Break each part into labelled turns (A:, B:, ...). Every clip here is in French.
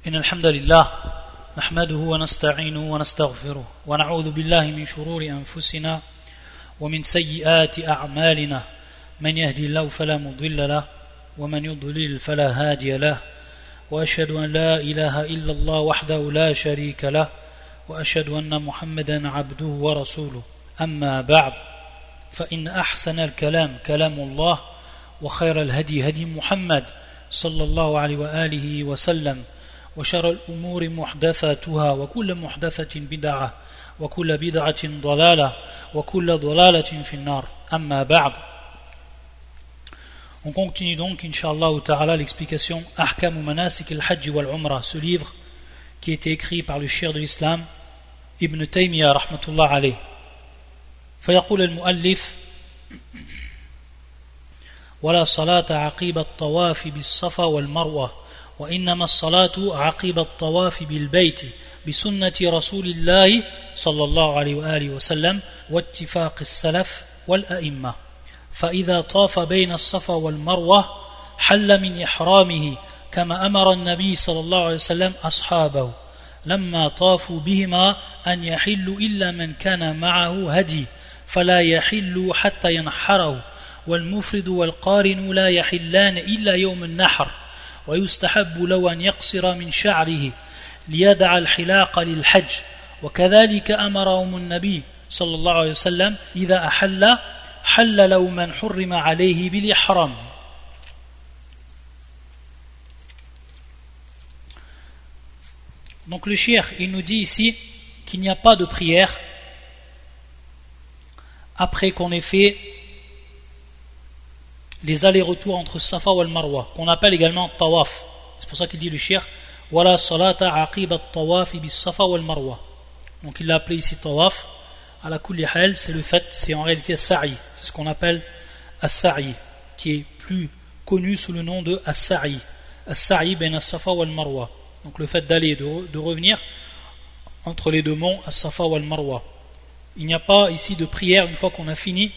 A: إن الحمد لله نحمده ونستعينه ونستغفره ونعوذ بالله من شرور أنفسنا ومن سيئات أعمالنا من يهدي الله فلا مضل له ومن يضلل فلا هادي له وأشهد أن لا إله إلا الله وحده لا شريك له وأشهد أن محمدا عبده ورسوله أما بعد فإن أحسن الكلام كلام الله وخير الهدي هدي محمد صلى الله عليه وآله وسلم وشر الأمور محدثاتها وكل محدثة بدعة وكل بدعة ضلالة وكل ضلالة في النار أما بعد. On continue donc, Inch'Allah ta'ala, l'explication Ahkam Manasik al-Hajj wal-Umrah, ce livre qui a été écrit par le cheikh de l'islam Ibn Taymiyyah rahmatullah alayh. فيقول المؤلف ولا صلاة عقيب الطواف بالصفا والمروة وإنما الصلاة عقيب الطواف بالبيت بسنة رسول الله صلى الله عليه وآله وسلم واتفاق السلف والأئمة فإذا طاف بين الصفا والمروة حل من إحرامه كما أمر النبي صلى الله عليه وسلم أصحابه لما طافوا بهما أن يحلوا إلا من كان معه هدي فلا يحل حتى ينحره والمفرد والقارن لا يحلان إلا يوم النحر ويستحب له أن يقصر من شعره ليدع الحلاق للحج وكذلك أمرهم النبي صلى الله عليه وسلم إذا أحل حل له من حرم عليه بالإحرام. Donc le cheikh, il nous dit ici qu'il n'y a pas de prière après qu'on ait fait les allers-retours entre Safa et Marwa, qu'on appelle également Tawaf. C'est pour ça qu'il dit le cheikh Wala salata aqib at-tawaf bis Safa wal Marwa. Donc il l'a appelé ici Tawaf. À la kulli hal, c'est le fait, c'est en réalité As-Sa'i. C'est ce qu'on appelle As-Sa'i, qui est plus connu sous le nom de As-Sa'i. As-Sa'i ben As-Safa wal Marwa. Donc le fait d'aller et de revenir entre les deux monts, As-Safa wal Marwa. Il n'y a pas ici de prière une fois qu'on a fini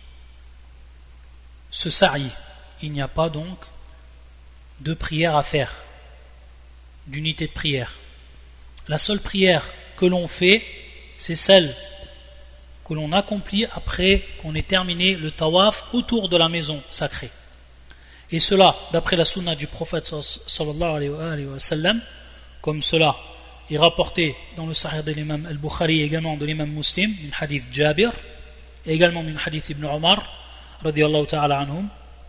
A: ce sa'i. Il n'y a pas donc de prière à faire, d'unité de prière. La seule prière que l'on fait, c'est celle que l'on accomplit après qu'on ait terminé le tawaf autour de la maison sacrée. Et cela, d'après la sunna du prophète sallallahu alayhi wa sallam, comme cela est rapporté dans le sahih de l'imam al-Bukhari et également de l'imam Muslim, une hadith Jabir, et également une hadith Ibn Omar, radiyallahu ta'ala anhum.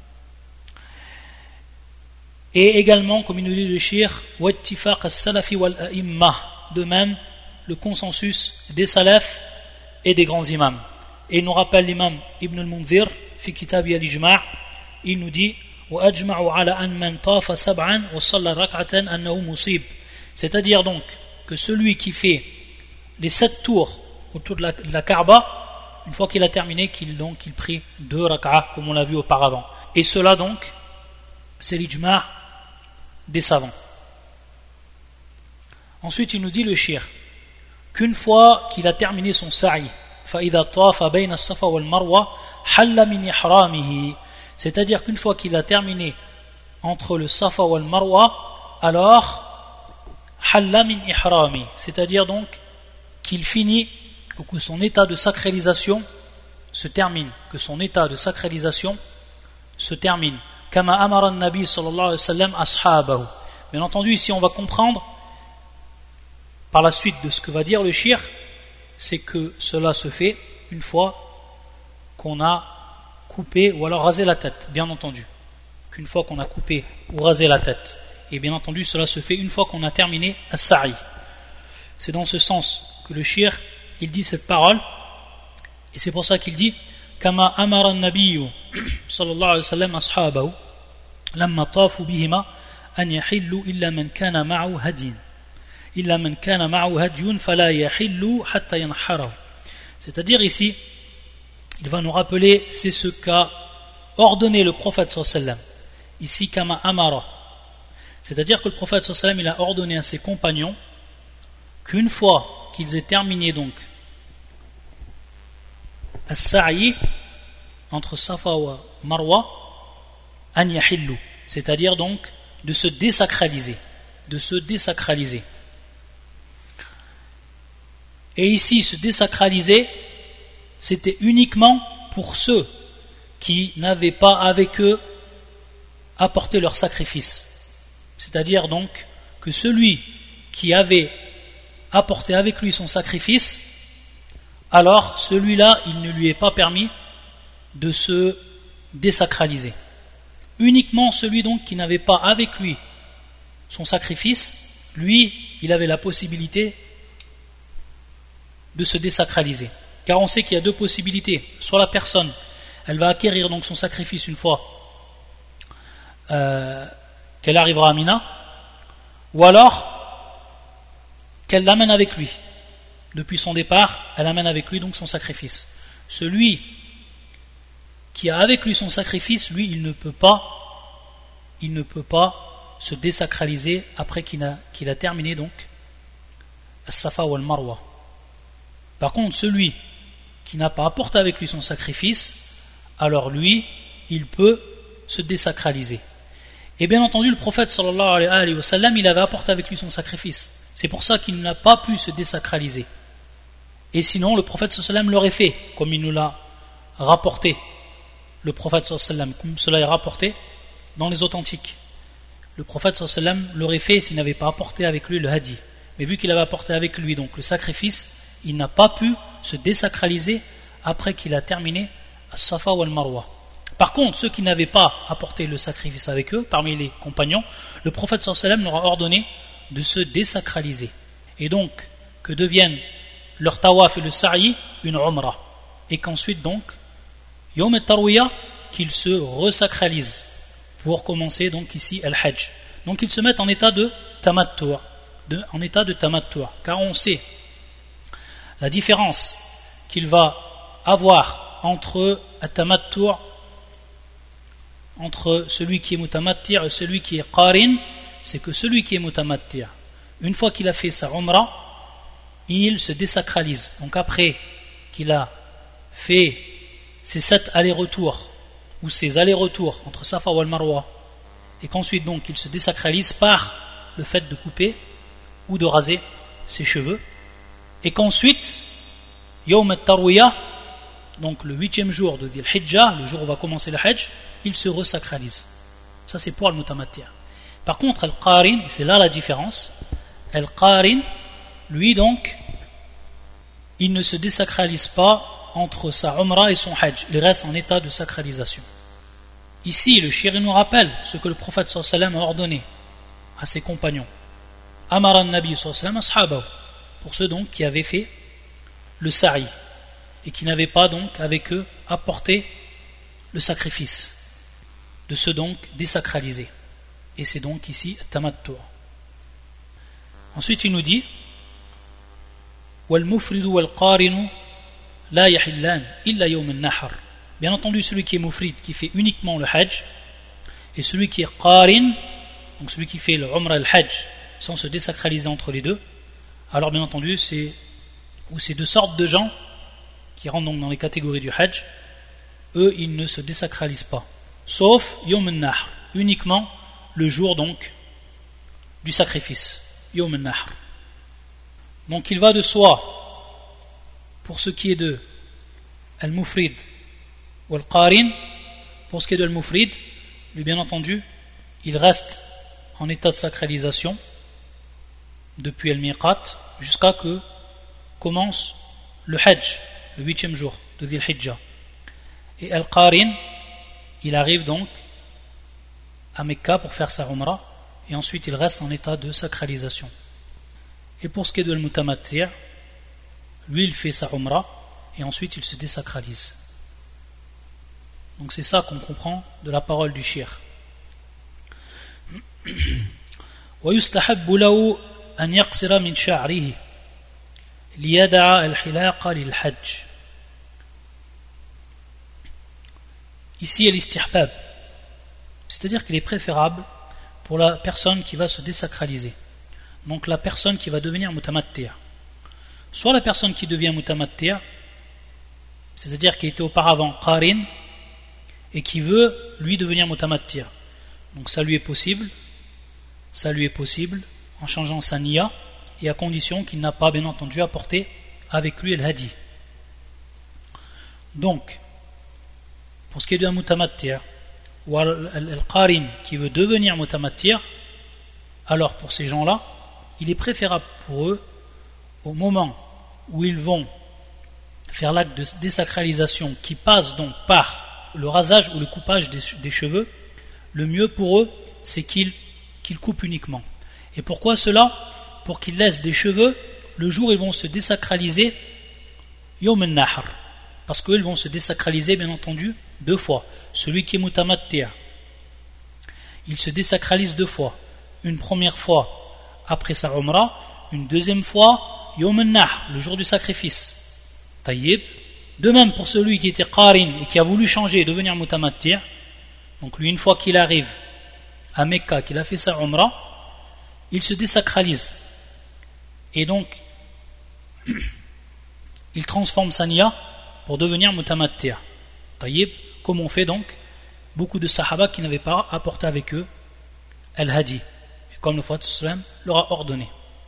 A: Et également, comme il nous dit le cheikh, wattifaq as-salafi wal-a'imma, de même le consensus des salafs et des grands imams. Et il nous rappelle l'imam Ibn al-Munzir, fi kitabi al-ijma', il nous dit وَأَجْمَعُوا عَلَى أَنْ مَنْ طَافَ سَبْعًا وَصَلَّى رَكْعَةً أَنَّهُ مُصِيب. C'est-à-dire donc que celui qui fait les 7 tours autour de la Kaaba, une fois qu'il a terminé, qu'il prie 2 rak'ah comme on l'a vu auparavant. Et cela donc, c'est l'ijma' des savants. Ensuite, il nous dit le cheikh qu'une fois qu'il a terminé son sa'i, فَإِذَا طَافَ بَيْنَ الصَّفَا وَالْمَرْوَةِ حَلَّ مِنْ إِحْرَامِهِ. C'est-à-dire qu'une fois qu'il a terminé entre le Safa et le Marwa, alors halla min ihrami, c'est-à-dire donc qu'il finit ou que son état de sacralisation se termine, kama amara an-nabi sallallahu alayhi wa sallam ashabahu. Bien entendu, ici on va comprendre par la suite de ce que va dire le cheikh, c'est que cela se fait une fois qu'on a coupé ou alors rasé la tête, bien entendu. Qu'une fois qu'on a coupé ou rasé la tête. Et bien entendu, cela se fait une fois qu'on a terminé as-sa'i. C'est dans ce sens que le cheikh, il dit cette parole, et c'est pour ça qu'il dit Kama amara an-nabiyyu sallallahu alayhi wa sallam ashabahu lamma tafu bihima an yahillu illa man kana ma'ahu hadiyun fala yahillu hatta yanharahu. C'est-à-dire ici, il va nous rappeler, c'est ce qu'a ordonné le prophète sallallahu alayhi wa sallam. Ici, kama amara. C'est-à-dire que le prophète sallallahu alayhi wa sallam, il a ordonné à ses compagnons qu'une fois qu'ils aient terminé donc as-sa'i entre Safa et Marwa, an yahillu, c'est-à-dire donc de se désacraliser. de se désacraliser. Et ici, se désacraliser, c'était uniquement pour ceux qui n'avaient pas avec eux apporté leur sacrifice. C'est-à-dire donc que celui qui avait apporté avec lui son sacrifice, alors celui-là, il ne lui est pas permis de se désacraliser. Uniquement celui donc qui n'avait pas avec lui son sacrifice, lui, il avait la possibilité de se désacraliser. Car on sait qu'il y a deux possibilités. Soit la personne, elle va acquérir donc son sacrifice une fois qu'elle arrivera à Mina, ou alors qu'elle l'amène avec lui. Depuis son départ, elle amène avec lui donc son sacrifice. Celui qui a avec lui son sacrifice, lui, il ne peut pas se désacraliser après qu'il a terminé donc As-Safa ou Al-Marwa. Par contre, celui qui n'a pas apporté avec lui son sacrifice, alors lui, il peut se désacraliser. Et bien entendu, le prophète sallallahu alayhi wa sallam, il avait apporté avec lui son sacrifice. C'est pour ça qu'il n'a pas pu se désacraliser. Et sinon, le prophète sallallahu alayhi wa sallam l'aurait fait, comme il nous l'a rapporté. Le prophète sallallahu alayhi wa sallam, comme cela est rapporté dans les authentiques. Le prophète sallallahu alayhi wa sallam l'aurait fait s'il n'avait pas apporté avec lui le hadi. Mais vu qu'il avait apporté avec lui donc le sacrifice, il n'a pas pu se désacraliser après qu'il a terminé As-Safa ou Al-Marwa. Par contre, ceux qui n'avaient pas apporté le sacrifice avec eux, parmi les compagnons, le prophète sallallahu alayhi wa sallam leur a ordonné de se désacraliser. Et donc, que deviennent leur tawaf et le sa'i une umrah. Et qu'ensuite donc, Yawm al-Tarwiyah, qu'ils se resacralisent pour commencer donc ici al-Hajj. Donc ils se mettent en état de tamattu', car on sait la différence qu'il va avoir entre at-tamattu', entre celui qui est mutamatti' et celui qui est qarin, c'est que celui qui est mutamatti', une fois qu'il a fait sa umrah, il se désacralise. Donc après qu'il a fait ces 7 allers-retours ou ces allers-retours entre Safa ou Al-Marwa, et qu'ensuite donc il se désacralise par le fait de couper ou de raser ses cheveux, et qu'ensuite Yawm al-Tarwiyah, donc le 8e jour de Dhil Hijjah, le jour où va commencer le Hajj, il se resacralise. Ça c'est pour Al-Mutamatti'. Par contre Al-Qarin, et c'est là la différence, Al-Qarin, lui donc, il ne se désacralise pas entre sa Umrah et son Hajj, il reste en état de sacralisation. Ici, le shir nous rappelle ce que le prophète sallallahu alayhi wa sallam a ordonné à ses compagnons. Amara Nabi sallallahu alayhi wa sallam ashabahu, pour ceux donc qui avaient fait le sa'i et qui n'avaient pas donc avec eux apporté le sacrifice, de se donc désacraliser. Et c'est donc ici tamattu'. Ensuite il nous dit wal mufridu wal qarinu la yahillan illa yawm an-nahr. Bien entendu, celui qui est mufrid, qui fait uniquement le hajj, et celui qui est qarin, donc celui qui fait le umrah et le hajj sans se désacraliser entre les deux, alors bien entendu c'est ces deux sortes de gens qui rentrent donc dans les catégories du hajj, eux ils ne se désacralisent pas, sauf yawm an-nahr, uniquement le jour donc du sacrifice, yawm an-nahr. Donc il va de soi, pour ce qui est de al-mufrid ou al-qarin, pour ce qui est de al-mufrid, lui bien entendu il reste en état de sacralisation depuis al-miqat jusqu'à que commence le hajj, le 8e jour de Dhil Hijjah. Et al-qarin, il arrive donc à Mecca pour faire sa umrah, et ensuite il reste en état de sacralisation. Et pour ce qui est de al-mutamatti', lui il fait sa umrah et ensuite il se désacralise. Donc c'est ça qu'on comprend de la parole du shir. ويستحب له أن يقصر من شعره ليدع الحلاق للحج. Ici il istihbab, c'est-à-dire qu'il est préférable pour la personne qui va se désacraliser, donc la personne qui va devenir mutamatti', soit la personne qui devient mutamatti', c'est-à-dire qui était auparavant qarin et qui veut lui devenir mutamatti', donc ça lui est possible, en changeant sa niya, et à condition qu'il n'a pas bien entendu apporté avec lui le hadi. Donc, pour ce qui est d'un mutamattir ou al-qarin qui veut devenir mutamattir, alors pour ces gens-là, il est préférable pour eux, au moment où ils vont faire l'acte de désacralisation qui passe donc par le rasage ou le coupage des cheveux, le mieux pour eux, c'est qu'ils coupent uniquement. Et pourquoi cela? Pour qu'ils laissent des cheveux le jour où ils vont se désacraliser Yawm al-Nahr. Parce qu'ils vont se désacraliser, bien entendu, 2 fois. Celui qui est mutamattir, il se désacralise 2 fois. Une première fois après sa umrah, une deuxième fois Yawm al-Nahr, le jour du sacrifice. Tayyib. De même pour celui qui était qarin et qui a voulu changer et devenir mutamattir, donc lui, une fois qu'il arrive à Mecca, qu'il a fait sa umrah, il se désacralise. Et donc, il transforme sa niya pour devenir mutamattir. Tayyib, comme on fait donc beaucoup de sahaba qui n'avaient pas apporté avec eux al-hadi, et comme le prophète sallam leur a ordonné.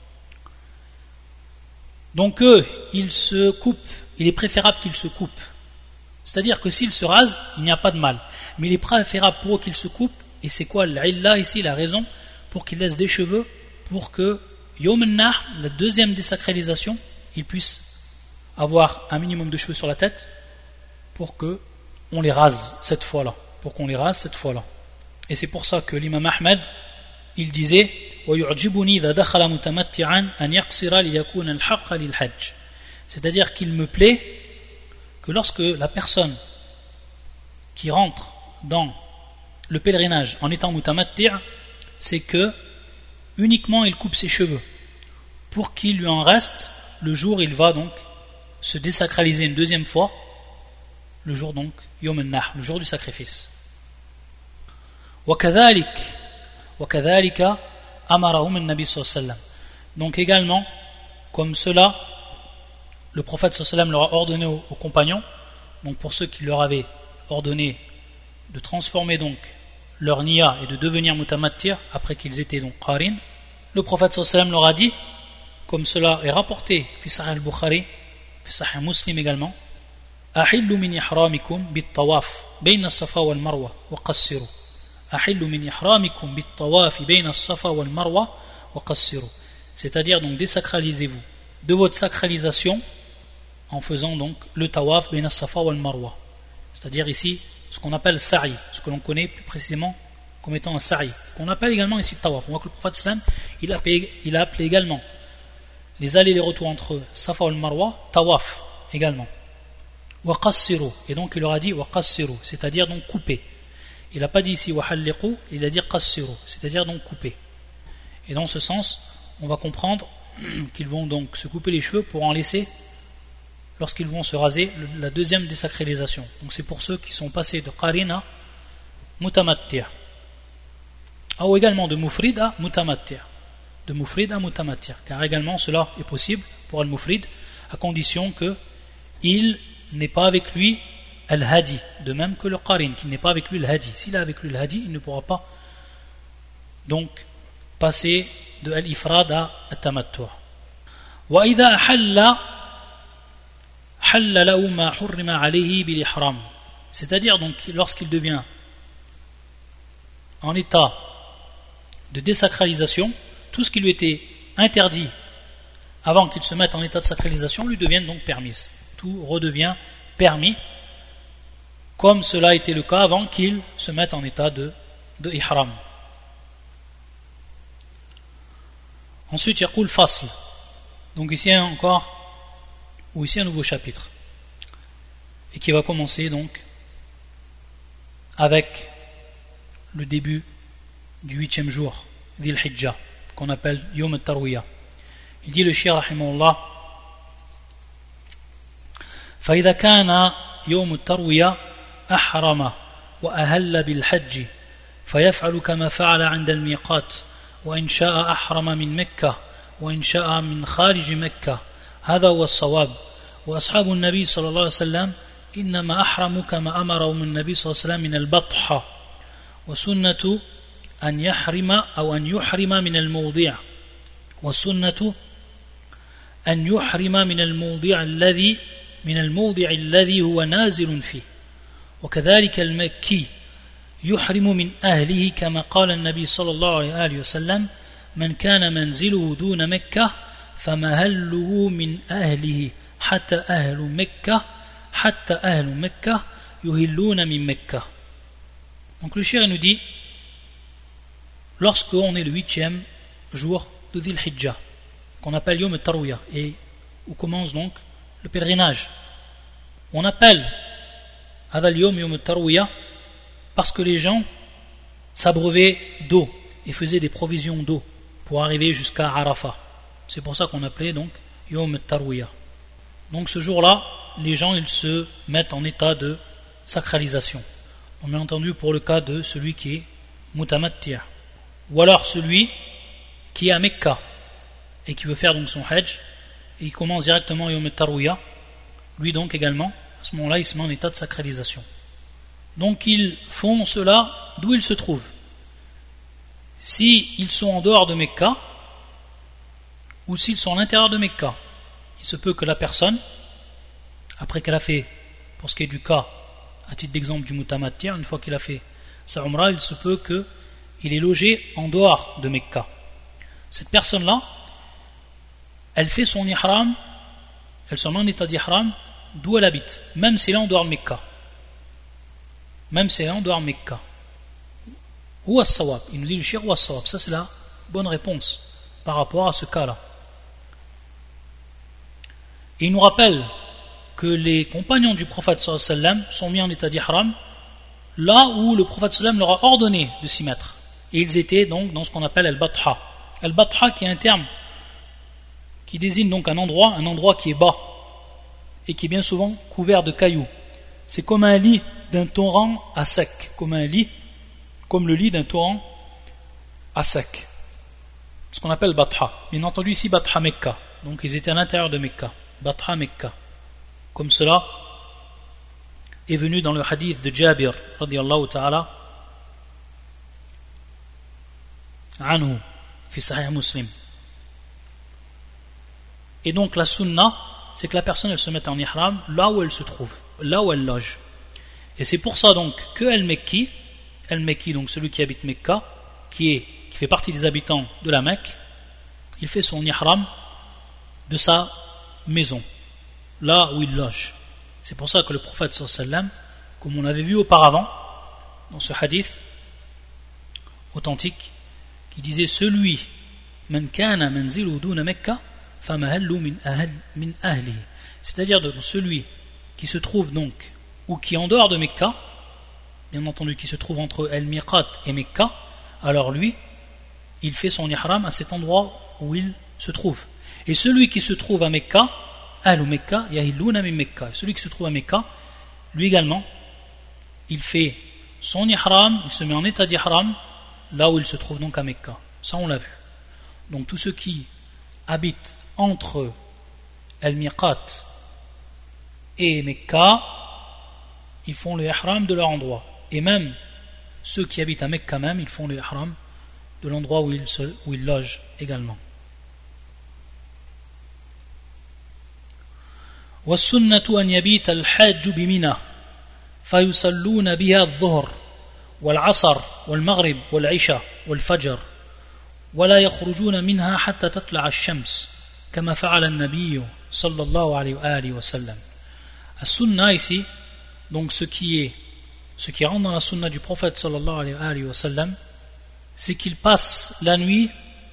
A: Donc eux, ils se coupent, il est préférable qu'ils se coupent. C'est-à-dire que s'ils se rasent, il n'y a pas de mal. Mais il est préférable pour eux qu'ils se coupent, et c'est quoi l'illa ici, la raison, pour qu'ils laissent des cheveux, pour que Yawm al-Nahr, la deuxième désacralisation, ils puissent avoir un minimum de cheveux sur la tête, pour que on les rase cette fois-là. Et c'est pour ça que l'imam Ahmed, il disait c'est-à-dire qu'il me plaît que lorsque la personne qui rentre dans le pèlerinage en étant mutamattir, c'est que uniquement il coupe ses cheveux pour qu'il lui en reste le jour où il va donc se désacraliser une deuxième fois, le jour donc Yawm al-Nahr, le jour du sacrifice. وكذلك أمرهم النبي صلى الله عليه وسلم. Donc également, comme cela, le prophète sallallahu alayhi wa sallam leur a ordonné aux compagnons, donc pour ceux qui leur avaient ordonné de transformer donc leur niya et de devenir mutamattir après qu'ils étaient donc qarin, le prophète sallallahu alayhi wa sallam leur a dit, comme cela est rapporté fi Sahih al-Bukhari, fi Sahih Muslim également, ahillu min ihramikum bit tawaf bayna as-safa wal marwa wa qassiru. C'est-à-dire donc désacralisez-vous de votre sacralisation en faisant donc le tawaf bayna as-safa wal marwa, c'est-à-dire ici ce qu'on appelle sa'i, ce que l'on connaît plus précisément comme étant un sa'i, qu'on appelle également ici tawaf. On voit que le prophète sallam il a appelé également les allers et les retours entre safa wal marwa tawaf également. Wa qassiru, et donc il leur a dit wa qassiru, c'est-à-dire donc couper. Il n'a pas dit ici wahalliqu, il a dit qassiru, c'est-à-dire donc couper. Et dans ce sens, on va comprendre qu'ils vont donc se couper les cheveux pour en laisser lorsqu'ils vont se raser la deuxième désacralisation. Donc c'est pour ceux qui sont passés de qarin à mutamattir, ou également de mufrid à mutamattir, car également cela est possible pour al-mufrid à condition que il n'est pas avec lui al-hadi, de même que le qarin, qui n'est pas avec lui al-hadi. S'il est avec lui al-hadi, il ne pourra pas donc passer de al-ifrad à al-tamattu'. Wa idha halla lahu ma hurrima alayhi bil ihram, c'est-à-dire donc lorsqu'il devient en état de désacralisation, tout ce qui lui était interdit avant qu'il se mette en état de sacralisation lui devient donc permis. Tout redevient permis, comme cela a été le cas avant qu'il se mette en état de ihram. Ensuite, il y a fasl. Donc ici encore, ou ici un nouveau chapitre, et qui va commencer donc avec le début du 8e jour Dhil Hijjah, qu'on appelle Yawm al-Tarwiyah. Il dit le Cheikh rahimahullah: فإذا كان يوم التروية أحرم وأهل بالحج فيفعل كما فعل عند الميقات، وإن شاء أحرم من مكة وإن شاء من خارج مكة، هذا هو الصواب. وأصحاب النبي صلى الله عليه وسلم إنما أحرموا كما أمرهم النبي صلى الله عليه وسلم من البطحة، وسنة أن يحرم أو أن يحرم من الموضع، والسنة أن يحرم من الموضع الذي هو نازل فيه وكذلك المكي يحرم من أهله كما قال النبي صلى الله عليه وسلم من كان منزله دون مكة فمهله من أهله حتى أهل مكة يهلون من مكة. Donc le shir nous dit, lorsque on est le 8e jour de Dhil Hijjah, qu'on appelle Yom al-Tarwiyah, et où commence donc le pèlerinage, on appelle Hadal Yom Yom al-Tarwiyah parce que les gens s'abreuvaient d'eau et faisaient des provisions d'eau pour arriver jusqu'à Arafat. C'est pour ça qu'on appelait donc Yom al-Tarwiyah. Donc ce jour-là, les gens ils se mettent en état de sacralisation. On a entendu pour le cas de celui qui est Mutamattir, ou alors celui qui est à Mecca et qui veut faire donc son Hajj et il commence directement Yom al-Tarwiyah, lui donc également, à ce moment-là il se met en état de sacralisation. Donc ils font cela d'où ils se trouvent. S'ils sont en dehors de Mecca ou s'ils sont à l'intérieur de Mecca, il se peut que la personne, après qu'elle a fait, pour ce qui est du cas, à titre d'exemple du Mutamattir, une fois qu'il a fait sa Umrah, il se peut qu'il est logé en dehors de Mecca. Cette personne-là, elle fait son ihram, elle se met en état d'ihram d'où elle habite, même si elle est en dehors de Mecca. Même si elle est en dehors de Mecca. Ou as-sawab, il nous dit le shir ou as-sawab, ça c'est la bonne réponse par rapport à ce cas-là. Et il nous rappelle que les compagnons du prophète sallallahu alayhi wa sallam sont mis en état d'ihram là où le prophète sallallahu alayhi wa sallam leur a ordonné de s'y mettre. Et ils étaient donc dans ce qu'on appelle al-batha. Al-batha qui est un terme qui désigne donc un endroit qui est bas et qui est bien souvent couvert de cailloux. C'est comme un lit d'un torrent à sec, comme le lit d'un torrent à sec. Ce qu'on appelle batha. Bien entendu ici batha Mecca. Donc ils étaient à l'intérieur de Mecca. Batha Mecca. Comme cela est venu dans le hadith de Jabir radiyallahu ta'ala anhu fi Sahih Muslim. Et donc la sunna, c'est que la personne elle se mette en ihram là où elle se trouve, là où elle loge. Et c'est pour ça donc que al-Mekki, donc celui qui habite Mecca, qui fait partie des habitants de la Mecque, il fait son ihram de sa maison, là où il loge. C'est pour ça que le prophète sallallahu alayhi wa sallam, comme on avait vu auparavant dans ce hadith authentique, qui disait celui man kana manzilu duna Mecca famahallu min ahli, c'est-à-dire donc celui qui se trouve donc ou qui est en dehors de Mecca, bien entendu qui se trouve entre El-Miqat et Mecca, alors lui il fait son ihram à cet endroit où il se trouve. Et celui qui se trouve à Mecca, Ahlu Mecca yahilluna min Mecca, celui qui se trouve à Mecca, lui également il fait son ihram, il se met en état d'ihram là où il se trouve donc à Mecca. Ça on l'a vu. Donc tous ceux qui habitent entre El-Miqat et Mecca, ils font le ihram de leur endroit. Et même ceux qui habitent à Mecca même, ils font le ihram de l'endroit où ils logent également. والسنة أن يبيت الحاج بمنى فيصلون بها الظهر والعصر والمغرب والعشاء والفجر ولا يخرجون منها حتى تطلع الشمس كما فعل النبي صلى الله عليه وآله وسلم. السنة ici, donc ce qui rentre dans la sunna du prophète sallallahu alayhi wa sallam, c'est qu'il passe la nuit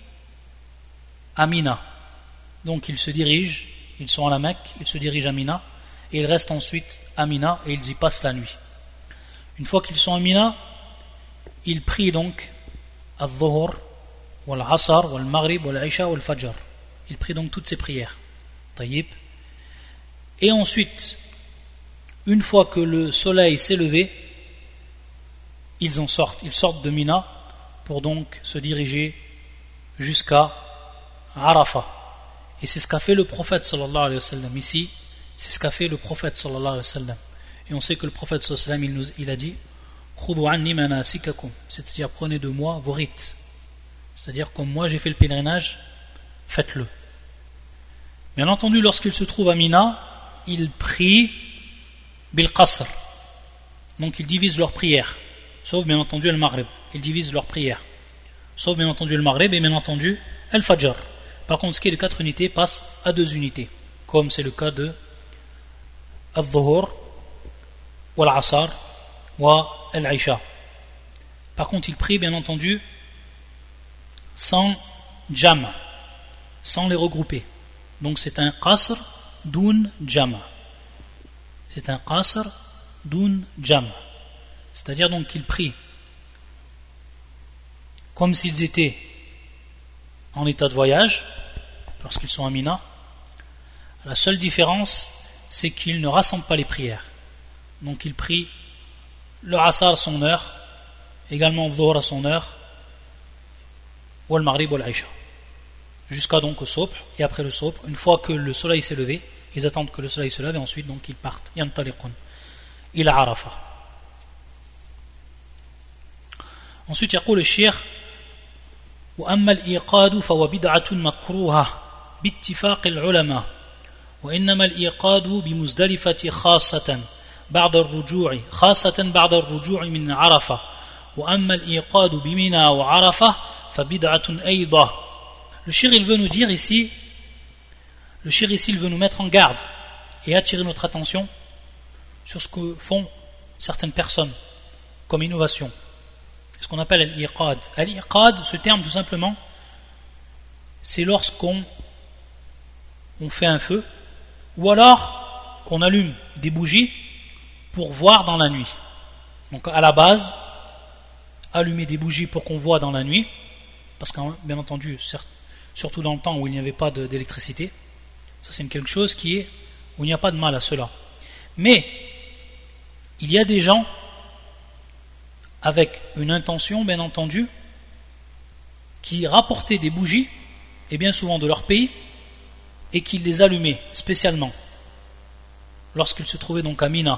A: à Mina. Donc ils sont à la Mecque, ils se dirigent à Mina et ils restent ensuite à Mina et ils y passent la nuit. Une fois qu'ils sont à Mina, ils prient donc al-Dhuhr, wal-Asr, wal-Maghrib, wal-Isha, wal-Fajr. Ils prient donc toutes ces prières. Tayyib. Et ensuite, une fois que le soleil s'est levé, ils sortent de Mina pour donc se diriger jusqu'à Arafat. Et c'est ce qu'a fait le prophète sallallahu alayhi wa sallam ici, c'est ce qu'a fait le prophète sallallahu alayhi wa sallam. Et on sait que le prophète sallallahu alayhi wa sallam il a dit Khudhu anni manasikakum, c'est-à-dire prenez de moi vos rites. C'est-à-dire comme moi j'ai fait le pèlerinage, faites-le. Bien entendu, lorsqu'il se trouve à Mina, il prie bil qasr. Donc ils divisent leur prière, sauf bien entendu le Maghrib. Ils divisent leur prière, sauf bien entendu le Maghrib et bien entendu el Fajr. Par contre, ce qui est de 4 unités passe à 2 unités, comme c'est le cas de al-Dhuhr, ou al-Asar, ou al-Isha. Par contre, il prie bien entendu sans jam, sans les regrouper. Donc c'est un qasr dun jam. C'est un qasr dun jam. C'est-à-dire donc qu'il prie comme s'ils étaient en état de voyage lorsqu'ils sont à Mina. La seule différence, c'est qu'ils ne rassemblent pas les prières. Donc ils prient le Asar à son heure, également le Dhuhr à son heure, ou le Maghrib ou l'Aïcha, jusqu'à donc au Subh. Et après le Subh, une fois que le soleil s'est levé, ils attendent que le soleil se lève et ensuite donc ils partent. Yantaliqun ila Arafah. Ensuite, يقول الشيخ وأما الإيقاد فهو بدعة مكروهة باتفاق العلماء وإنما الإيقاد بمزدلفة خاصة بعد الرجوع من عرفة وأما الإيقاد بمنى وعرفة فبدعة أيضا. Le shir il veut nous dire ici, il veut nous mettre en garde et attirer notre attention sur ce que font certaines personnes comme innovation, ce qu'on appelle al-iqad. Al-iqad, ce terme tout simplement, c'est lorsqu'on fait un feu ou alors qu'on allume des bougies pour voir dans la nuit. Donc à la base, allumer des bougies pour qu'on voit dans la nuit, parce que bien entendu, surtout dans le temps où il n'y avait pas d'électricité, ça c'est quelque chose où il n'y a pas de mal à cela. Mais il y a des gens avec une intention, bien entendu, qui rapportaient des bougies, et bien souvent de leur pays, et qui les allumaient spécialement lorsqu'ils se trouvaient donc à Mina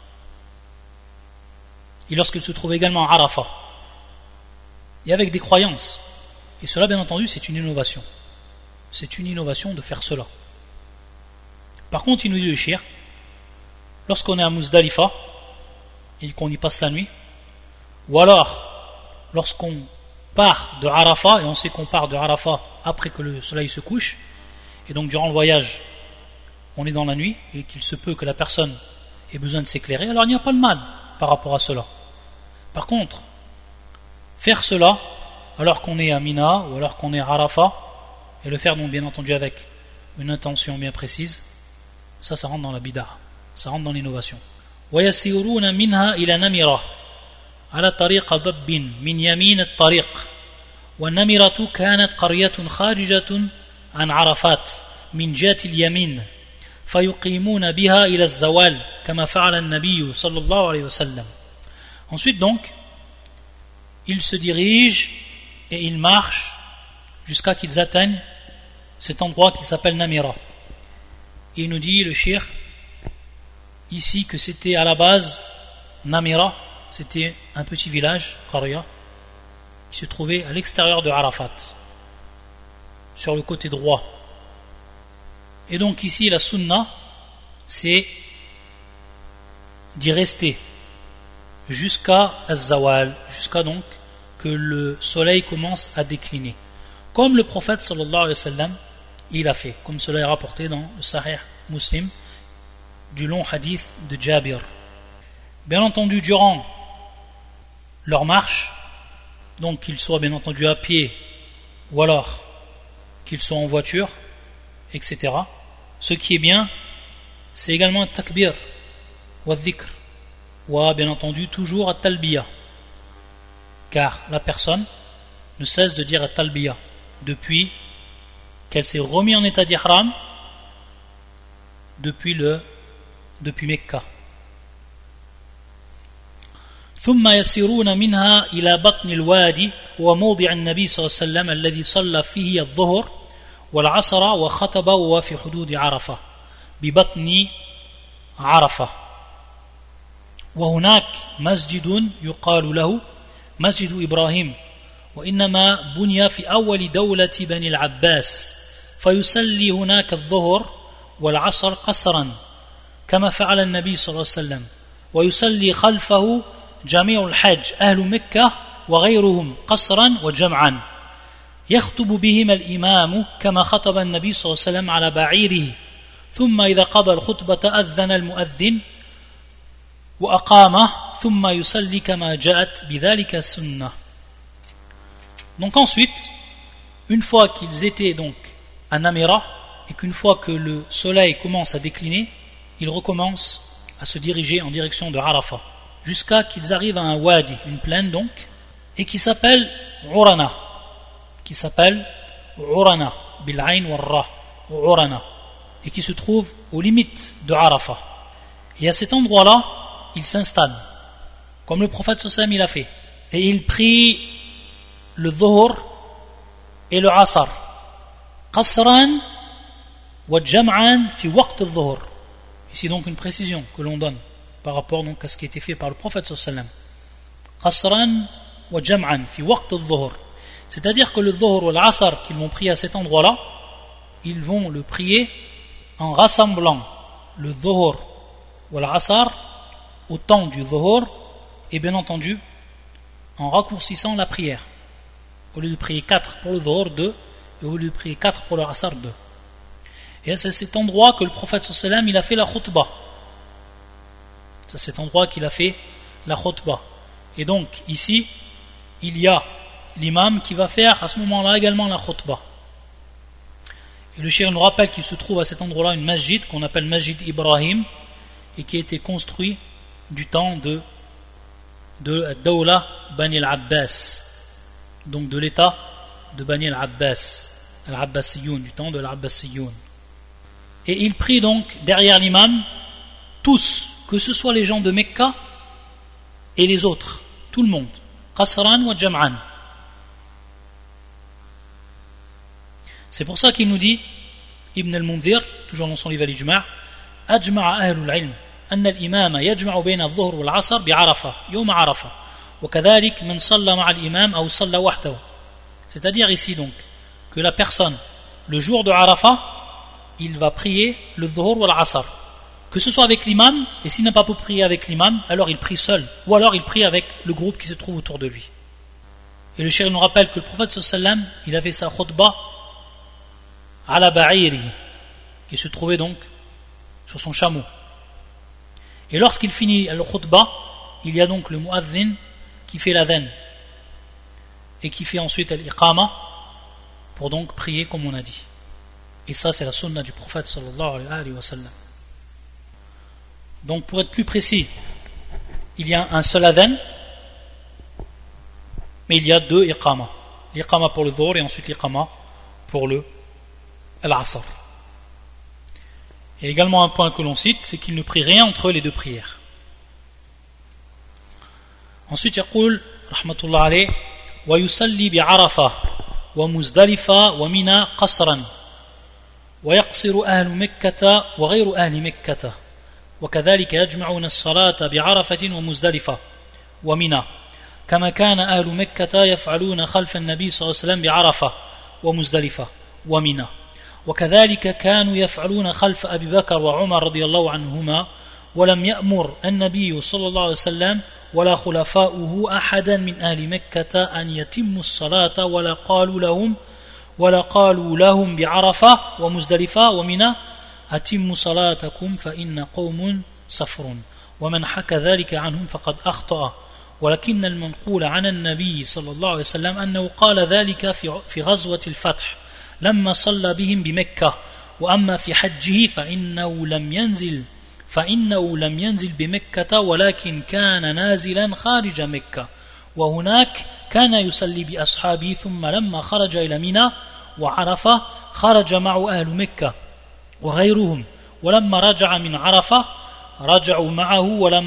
A: et lorsqu'ils se trouvaient également à Arafah, et avec des croyances. Et cela, bien entendu, c'est une innovation. C'est une innovation de faire cela. Par contre, il nous dit le shir, lorsqu'on est à Muzdalifa et qu'on y passe la nuit, ou alors lorsqu'on part de Arafah, et on sait qu'on part de Arafah après que le soleil se couche, et donc durant le voyage on est dans la nuit et qu'il se peut que la personne ait besoin de s'éclairer, alors il n'y a pas de mal par rapport à cela. Par contre, faire cela alors qu'on est à Mina ou alors qu'on est à Arafah, et le faire donc bien entendu avec une intention bien précise, ça rentre dans la bid'a, ça rentre dans l'innovation. وَيَسِيرُونَ مِنْهَا إِلَى نَمِرَةٍ على طريق ضب من يمين الطريق والنمرة كانت قرية خارجة عن عرفات من جهة اليمين فيقيمون بها إلى الزوال كما فعل النبي صلى الله عليه وسلم. Ensuite donc, ils se dirigent et ils marchent jusqu'à qu'ils atteignent cet endroit qui s'appelle Namira. Et il nous dit, le shir, ici que c'était à la base, Namira, c'était un petit village, Qarya, qui se trouvait à l'extérieur de Arafat, sur le côté droit. Et donc ici, la sunna, c'est d'y rester jusqu'à Az-Zawal, jusqu'à donc que le soleil commence à décliner. Comme le prophète sallallahu alayhi wa sallam, il a fait, comme cela est rapporté dans le Sahih Muslim, du long hadith de Jabir. Bien entendu, durant leur marche, donc qu'ils soient bien entendu à pied ou alors qu'ils soient en voiture, etc. Ce qui est bien, c'est également un takbir ou un dhikr, ou bien entendu toujours un talbiya, car la personne ne cesse de dire un talbiya depuis qu'elle s'est remise en état d'ihram depuis Mecca. ثم يسيرون منها إلى بطن الوادي وموضع النبي صلى الله عليه وسلم الذي صلى فيه الظهر والعصر وخطب وهو في حدود عرفة ببطن عرفة وهناك مسجد يقال له مسجد إبراهيم وإنما بني في أول دولة بني العباس فيصلي هناك الظهر والعصر قصرا كما فعل النبي صلى الله عليه وسلم ويصلي خلفه جميع الحج أهل مكة وغيرهم قصرا وجمعا يخطب بهم الإمام كما خطب النبي صلى الله عليه وسلم على بعيره ثم إذا قضى الخطبة أذن المؤذن وأقامه ثم يصلي كما جاءت بذلك السنة. Donc ensuite, une fois qu'ils étaient donc à Namira et qu'une fois que le soleil commence à décliner, ils recommencent à se diriger en direction de Arafat jusqu'à qu'ils arrivent à un wadi, une plaine donc, et qui s'appelle Urana, bil'ayn wal ra, Urana, et qui se trouve aux limites de Arafat. Et à cet endroit-là, il s'installe, comme le prophète sallallahu alayhi wa sallam il a fait, et il prie le dhuhr et le asr, qasran wa jam'an fi waqt al-dhuhr. Ici donc une précision que l'on donne par rapport donc à ce qui a été fait par le prophète sallallahu alayhi wa sallam. Qasran wa jam'an fi waqt al-dhuhr. C'est-à-dire que le dhuhr ou l'asr qu'ils vont prier à cet endroit-là, ils vont le prier en rassemblant le dhuhr ou l'asr au temps du dhuhr et bien entendu en raccourcissant la prière. Au lieu de prier 4 pour le dhuhr, 2, et au lieu de prier 4 pour le asr, 2. Et c'est à cet endroit que le prophète sallallahu alayhi wa sallam il a fait la khutbah. C'est à cet endroit qu'il a fait la khutbah. Et donc ici, il y a l'imam qui va faire à ce moment-là également la khutbah. Et le cheikh nous rappelle qu'il se trouve à cet endroit-là une masjid qu'on appelle Masjid Ibrahim et qui a été construit du temps de Dawla Bani al-Abbas, donc de l'état de Bani al-Abbas, al-Abbasiyoun, du temps de l'Abbasiyoun. Et il prie donc derrière l'imam tous, que ce soit les gens de Mecca et les autres, tout le monde, qasran wa jam'an. C'est pour ça qu'il nous dit, Ibn al-Mundhir, toujours dans son livre al-Ijma', أجمع أهل العلم أن الإمام يجمع بين الظهر والعصر بعرفة يوم عرفة وكذلك من صلى مع الإمام أو صلى وحده. C'est-à-dire ici donc que la personne, le jour de Arafat, il va prier le dhuhr ou l'asr, que ce soit avec l'imam, et s'il n'a pas pu prier avec l'imam, alors il prie seul, ou alors il prie avec le groupe qui se trouve autour de lui. Et le cheikh nous rappelle que le prophète sallallahu alayhi wa sallam, il avait sa khutbah ala ba'iri, qui se trouvait donc sur son chameau. Et lorsqu'il finit le khutbah, il y a donc le mu'adhin qui fait l'adhan et qui fait ensuite l'iqama pour donc prier comme on a dit. Et ça c'est la sunna du prophète sallallahu alayhi wa sallam. Donc pour être plus précis, il y a un seul adhan, mais il y a 2 iqama. L'iqama pour le dhuhr et ensuite l'iqama pour le al-asr. Et également un point que l'on cite, c'est qu'il ne prie rien entre les 2 prières. Ensuite, يقول رحمة الله عليه ويصلي بعرفة ومزدلفة ومنى قصرا ويقصر أهل مكة وغير أهل مكة وكذلك يجمعون الصلاة بعرفة ومزدلفة ومنى كما كان أهل مكة يفعلون خلف النبي صلى الله عليه وسلم بعرفة ومزدلفة ومنى وكذلك كانوا يفعلون خلف أبي بكر وعمر رضي الله عنهما ولم يأمر النبي صلى الله عليه وسلم ولا خلفاؤه أحدا من أهل مكة أن يتموا الصلاة ولا قالوا لهم بعرفة ومزدلفة ومنى أتموا صلاتكم فإن قوم صفر ومن حكى ذلك عنهم فقد أخطأ ولكن المنقول عن النبي صلى الله عليه وسلم أنه قال ذلك في غزوة الفتح لما صلى بهم بمكة وأما في حجه فإنه لم ينزل بمكة ولكن كان نازلا خارج مكة وهناك كان يصلي بأصحابه ثم لما خرج إلى منى وعرفة خرج معه أهل مكة وغيرهم ولما رجع من عرفة رجعوا معه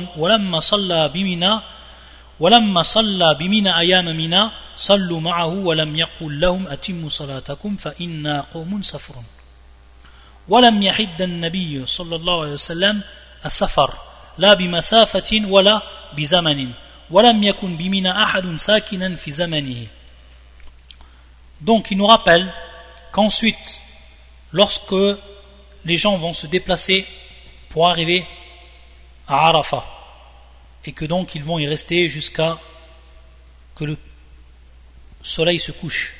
A: ولما صلى بمنى أيام منى صلوا معه ولم يقل لهم أتموا صلاتكم فإنا قوم صفر ولم يحد النبي صلى الله عليه وسلم السفر لا بمسافة ولا بزمن ولم يكن بمنى أحد ساكنا في زمنه. Donc il nous rappelle qu'ensuite lorsque les gens vont se déplacer pour arriver à Arafat, et que donc ils vont y rester jusqu'à que le soleil se couche.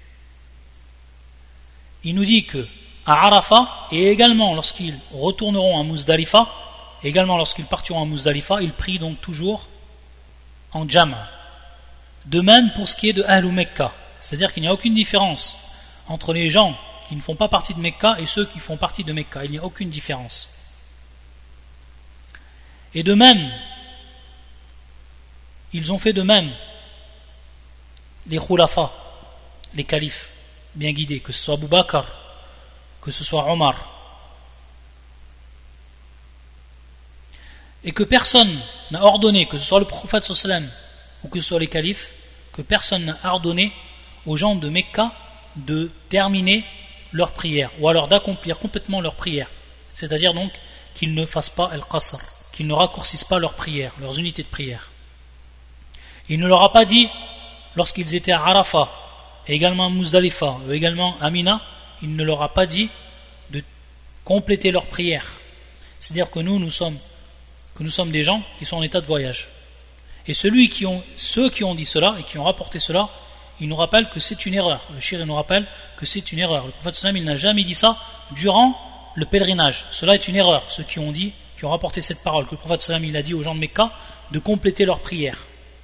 A: Il nous dit que à Arafat, et également lorsqu'ils retourneront à Muzdalifa, également lorsqu'ils partiront à Muzdalifa, ils prient donc toujours en Jama. De même pour ce qui est de Ahlou Mekka, c'est-à-dire qu'il n'y a aucune différence entre les gens qui ne font pas partie de Mekka et ceux qui font partie de Mekka. Il n'y a aucune différence. Et de même, ils ont fait de même les khulafa, les califes bien guidés, que ce soit Abu Bakr, que ce soit Omar, et que personne n'a ordonné, que ce soit le prophète sallam ou que ce soit les califes, que personne n'a ordonné aux gens de Mecca de terminer leur prière, ou alors d'accomplir complètement leur prière, c'est-à-dire donc qu'ils ne fassent pas al-qasr, qu'ils ne raccourcissent pas leur prière, leurs unités de prière. Il ne leur a pas dit, lorsqu'ils étaient à Arafat, et également à Muzdalifa, ou également à Mina, il ne leur a pas dit de compléter leur prière. C'est-à-dire que nous sommes des gens qui sont en état de voyage. Et ceux qui ont dit cela et qui ont rapporté cela, ils nous rappellent que c'est une erreur. Le shir nous rappelle que c'est une erreur. Le prophète sallam, il n'a jamais dit ça durant le pèlerinage. Cela est une erreur. Ceux qui ont rapporté cette parole, que le prophète sallam, il a dit aux gens de Mecca de compléter leur prière.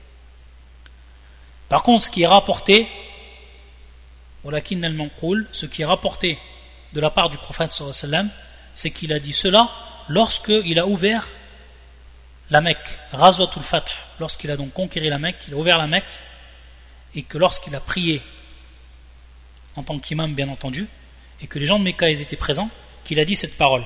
A: Par contre, ce qui est rapporté, ce qui est rapporté de la part du prophète sallallahu alayhi wa sallam, c'est qu'il a dit cela lorsqu'il a ouvert la Mecque, Ghazwatul Fath, lorsqu'il a donc conquéri la Mecque, il a ouvert la Mecque, et que lorsqu'il a prié en tant qu'imam bien entendu, et que les gens de Mecca étaient présents, qu'il a dit cette parole.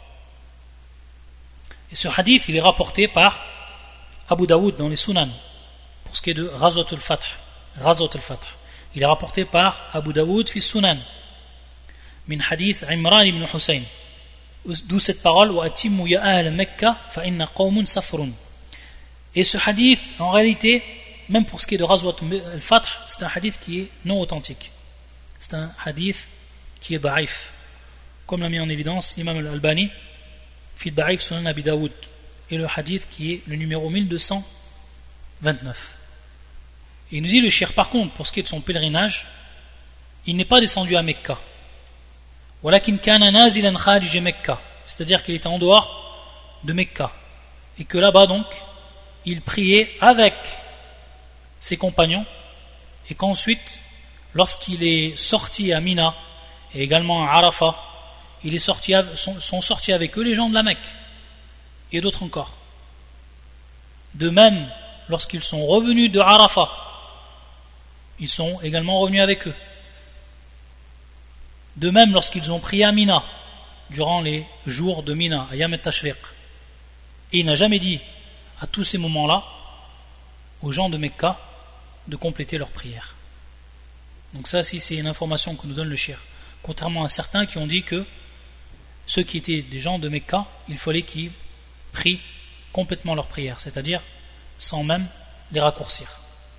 A: Et ce hadith il est rapporté par Abu Daoud dans les Sunan, pour ce qui est de Ghazwatul Fath. Il est rapporté par Abu Daoud fi Sunan min hadith Imran ibn Hussein, d'où cette parole wa atimmu ya ahl Mecca fa inna qawmun safrun. Et ce hadith en réalité, même pour ce qui est de Ghazwat al-Fath, c'est un hadith qui est non authentique, c'est un hadith qui est da'if, comme l'a mis en évidence l'imam al-Albani fi da'if Sunan Abi Daoud, et le hadith qui est le numéro 1229. Et il nous dit le shir, par contre, pour ce qui est de son pèlerinage, il n'est pas descendu à Mecca. Walakin kana nazilan kharij Mecca, c'est-à-dire qu'il était en dehors de Mecca, et que là-bas donc, il priait avec ses compagnons, et qu'ensuite, lorsqu'il est sorti à Mina, et également à Arafat, sont sortis avec eux les gens de la Mecque, et d'autres encore. De même, lorsqu'ils sont revenus de Arafat, ils sont également revenus avec eux. De même, lorsqu'ils ont prié à Mina, durant les jours de Mina, à Yam al-Tashriq, et il n'a jamais dit, à tous ces moments-là, aux gens de Mecca, de compléter leur prière. Donc ça, c'est une information que nous donne le shir. Contrairement à certains qui ont dit que ceux qui étaient des gens de Mecca, il fallait qu'ils prient complètement leur prière, c'est-à-dire sans même les raccourcir.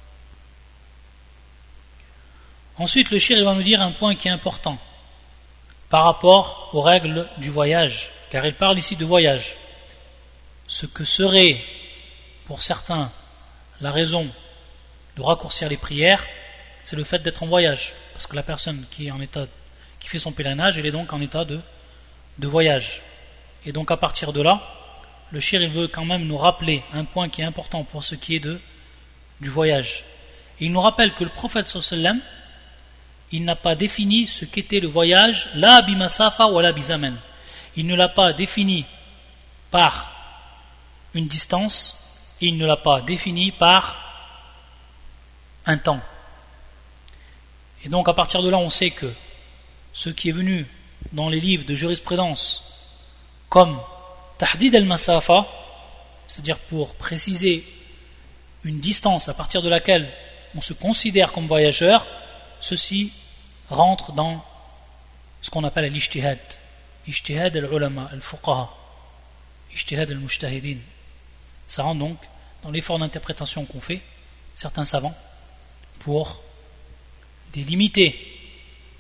A: Ensuite, le shir va nous dire un point qui est important par rapport aux règles du voyage, car il parle ici de voyage. Ce que serait pour certains la raison de raccourcir les prières, c'est le fait d'être en voyage, parce que la personne qui fait son pèlerinage, elle est donc en état de voyage. Et donc à partir de là, le shir il veut quand même nous rappeler un point qui est important pour ce qui est du voyage. Et il nous rappelle que le prophète sallallahu alayhi wa sallam, il n'a pas défini ce qu'était le voyage, la bimasafa ou la bizamen. Il ne l'a pas défini par une distance, et il ne l'a pas défini par un temps. Et donc à partir de là, on sait que ce qui est venu dans les livres de jurisprudence comme tahdid al-masafa, c'est-à-dire pour préciser une distance à partir de laquelle on se considère comme voyageur, ceci rentre dans ce qu'on appelle l'ijtihad, ijtihad al-ulama, al-fuqaha, ijtihad al-mujtahidin. Ça rentre donc dans l'effort d'interprétation qu'ont fait certains savants pour délimiter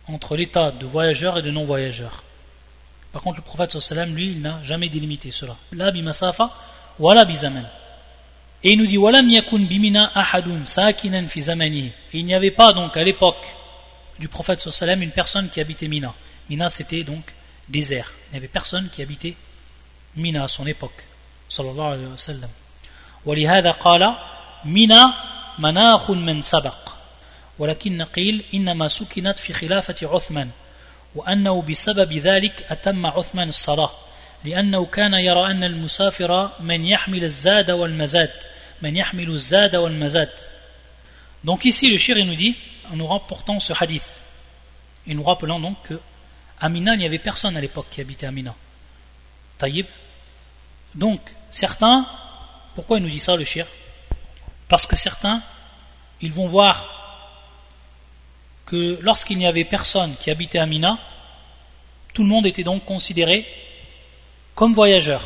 A: entre l'état de voyageur et de non-voyageur. Par contre, le prophète sallallahu alayhi wa sallam, lui, il n'a jamais délimité cela. La bimasafa, wala bizaman. Et il nous dit, walam yakun bimina ahadun sakinan fi zamanihi. Et il n'y avait pas donc à l'époque du prophète sallallahu alayhi wa sallam une personne qui habitait Mina. Mina, c'était donc désert. Il n'y avait personne qui habitait Mina à son époque. Sallallahu alayhi wa sallam. ولهذا قال منا مناخ من سبق ولكن قيل إنما سكنت في خلافة عثمان وأنه بسبب ذلك أتم عثمان الصلاة لأنه كان يرى أن المسافر من يحمل الزاد والمزاد من يحمل الزاد والمزاد. Donc ici le shir il nous dit en nous rapportant ce hadith et nous rappelant donc que à Mina il n'y avait personne à l'époque qui habitait à Mina. Taïb. Donc certains, pourquoi il nous dit ça le shir? Parce que certains ils vont voir que lorsqu'il n'y avait personne qui habitait à Mina, tout le monde était donc considéré comme voyageur.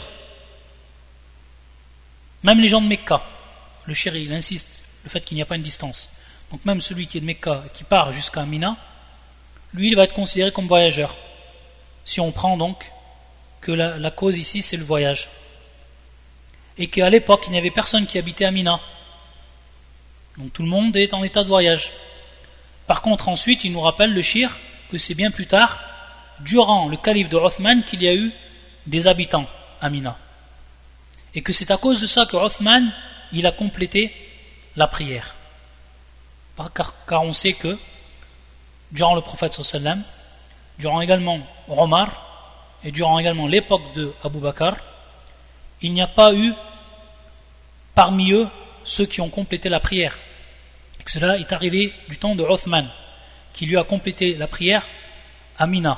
A: Même les gens de Mecca, le chéri il insiste, le fait qu'il n'y a pas une distance. Donc même celui qui est de Mecca, qui part jusqu'à Mina, lui il va être considéré comme voyageur. Si on prend donc que la cause ici c'est le voyage. Et qu'à l'époque il n'y avait personne qui habitait à Mina. Donc tout le monde est en état de voyage. Par contre, ensuite, il nous rappelle le shir que c'est bien plus tard, durant le calife de Othman, qu'il y a eu des habitants à Mina. Et que c'est à cause de ça que Othman, il a complété la prière. Car on sait que, durant le prophète sallallahu alayhi wa sallam, durant également Omar, et durant également l'époque de Abu Bakr, il n'y a pas eu parmi eux ceux qui ont complété la prière. Et que cela est arrivé du temps de Othman, qui lui a complété la prière à Mina.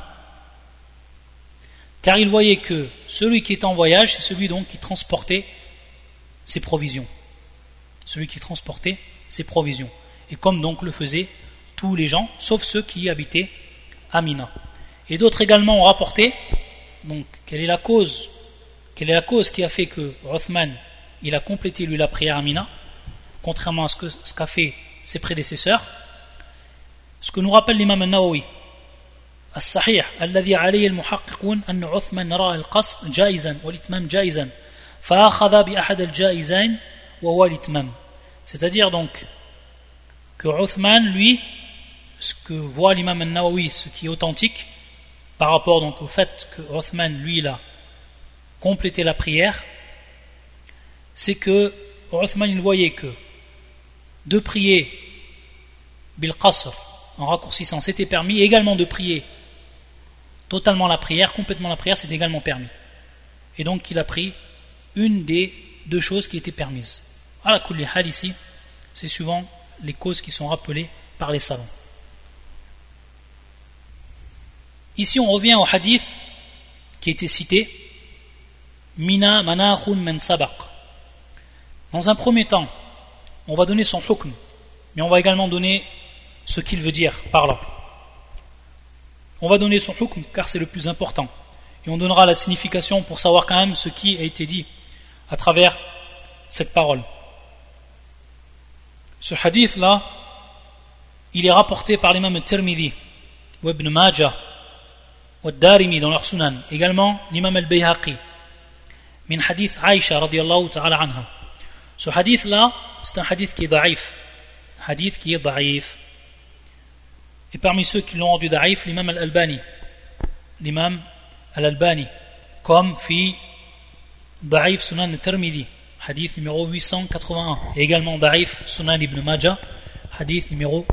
A: Car il voyait que celui qui était en voyage, c'est celui donc qui transportait ses provisions. Celui qui transportait ses provisions. Et comme donc le faisaient tous les gens, sauf ceux qui habitaient à Mina. Et d'autres également ont rapporté, donc, quelle est la cause qui a fait que Othman, il a complété lui la prière à Mina, contrairement à ce qu'a fait ses prédécesseurs. Ce que nous rappelle l'imam al-Nawawi, الصحيح الذي عليه المحققون أن عثمان رأى القصر جائزا والإتمام جائزا فأخذ بأحد الجائزين وهو الإتمام. C'est-à-dire donc que Uthman, lui, ce que voit l'imam al-Nawawi, ce qui est authentique par rapport donc au fait que Uthman, lui, il a complété la prière, c'est que Uthman, il voyait que de prier bil qasr en raccourcissant c'était permis, et également de prier totalement la prière, complètement la prière, c'est également permis. Et donc il a pris une des deux choses qui étaient permises. Ala kulli hal ici, c'est souvent les causes qui sont rappelées par les savants. Ici on revient au hadith qui a été cité, Mina manakhun man sabaq. Dans un premier temps, on va donner son hukm, mais on va également donner ce qu'il veut dire par là. On va donner son hukm car c'est le plus important, et on donnera la signification pour savoir quand même ce qui a été dit à travers cette parole. Ce hadith là, il est rapporté par l'imam al-Tirmidhi ou Ibn Majah ou al-Darimi dans leur sunan, également l'imam al-Bayhaqi min hadith Aïcha radiyallahu ta'ala anha. Ce hadith là, c'est un hadith qui est daïf. Hadith qui est daïf. Et parmi ceux qui l'ont rendu daïf, l'imam al-Albani. L'imam al-Albani. Comme fi daïf sunan al-Tirmidhi. Hadith numéro 881. Et également daïf sunan ibn Majah. Hadith numéro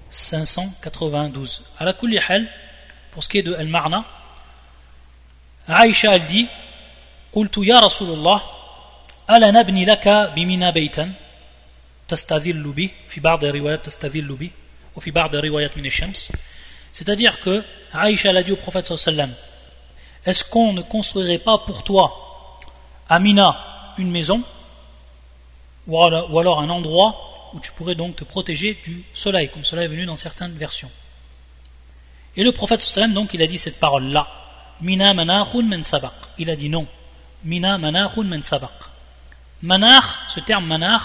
A: 592. Ala kulli hal, pour ce qui est de al-Ma'na, Aïcha elle dit, قلت يا رسول الله ألا نبني لك بمنى بيتا تستظل به في بعض الروايات تستظل به وفي بعض الروايات من الشمس. C'est-à-dire que Aïcha l'a dit au prophète sallallahu alayhi wa sallam, est-ce qu'on ne construirait pas pour toi à Mina une maison ou alors un endroit où tu pourrais donc te protéger du soleil, comme cela est venu dans certaines versions. Et le prophète sallallahu alayhi wa sallam donc il a dit cette parole là, Mina manakhun man sabaq. Il a dit non, Mina manakhun man sabaq. Manakh, ce terme manakh,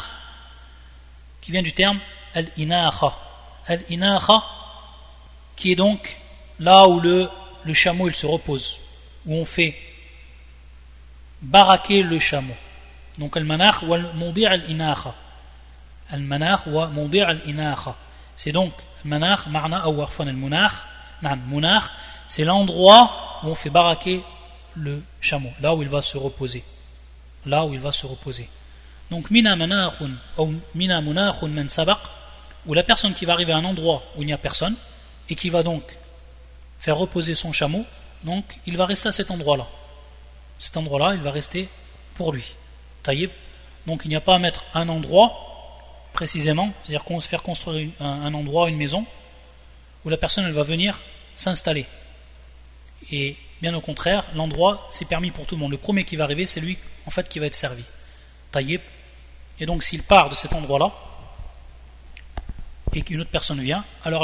A: qui vient du terme al-inakha. Al-inakha, qui est donc là où le chameau il se repose, où on fait baraquer le chameau. Donc al-manakh wa al-mawdi' al-inakha. Al-manakh wa mawdi' al-inakha. C'est donc al-manakh ma'na ou arfan al-munakh. Munakh, c'est l'endroit où on fait baraquer le chameau, là où il va se reposer. Là où il va se reposer. Donc mina manakhun ou mina munakhun man sabaq, où la personne qui va arriver à un endroit où il n'y a personne et qui va donc faire reposer son chameau, donc il va rester à cet endroit-là. Cet endroit-là, il va rester pour lui. Taïb. Donc il n'y a pas à mettre un endroit précisément, c'est-à-dire faire construire un endroit, une maison, où la personne elle va venir s'installer. Et bien au contraire, l'endroit c'est permis pour tout le monde. Le premier qui va arriver, c'est lui en fait qui va être servi. Taïb. Et donc s'il part de cet endroit-là et qu'une autre personne vient, alors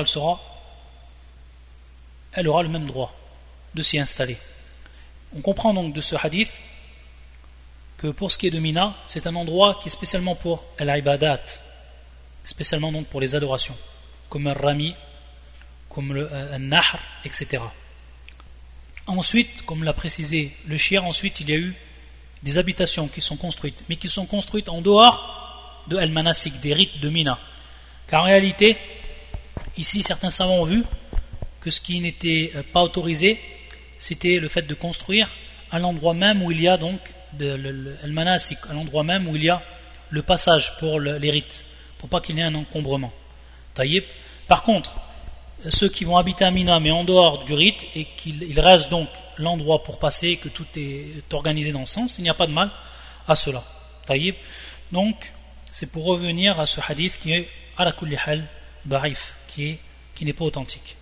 A: elle aura le même droit de s'y installer. On comprend donc de ce hadith que pour ce qui est de Mina, c'est un endroit qui est spécialement pour al-ibadat, spécialement donc pour les adorations, comme le rami, comme le nahr, etc. Ensuite, comme l'a précisé le shir, ensuite il y a eu des habitations qui sont construites, mais qui sont construites en dehors de al-manasik, des rites de Mina. Car en réalité, ici certains savants ont vu que ce qui n'était pas autorisé, c'était le fait de construire à l'endroit même où il y a donc al-manasik, à l'endroit même où il y a le passage pour les rites, pour pas qu'il y ait un encombrement. Taïb. Par contre, ceux qui vont habiter à Mina mais en dehors du rite et qu'il reste donc l'endroit pour passer, que tout est organisé dans ce sens, il n'y a pas de mal à cela. Taïb. Donc, c'est pour revenir à ce hadith qui est ala kulli hal da'if, qui n'est pas authentique.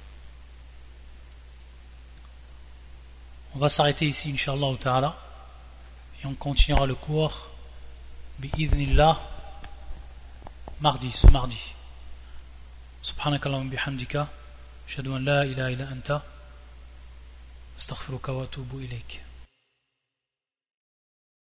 A: On va s'arrêter ici, Inch'Allah ta'ala, et on continuera le cours bi'idhnillah ce mardi. Subhanakallahumma bihamdika, ashhadu an la ilaha illa anta, astaghfiruka wa atubu ilayk.